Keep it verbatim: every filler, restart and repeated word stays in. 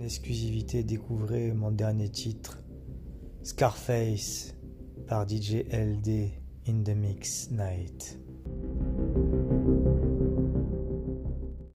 exclusivité, découvrez mon dernier titre, Scarface par D J L D in the Mix Night.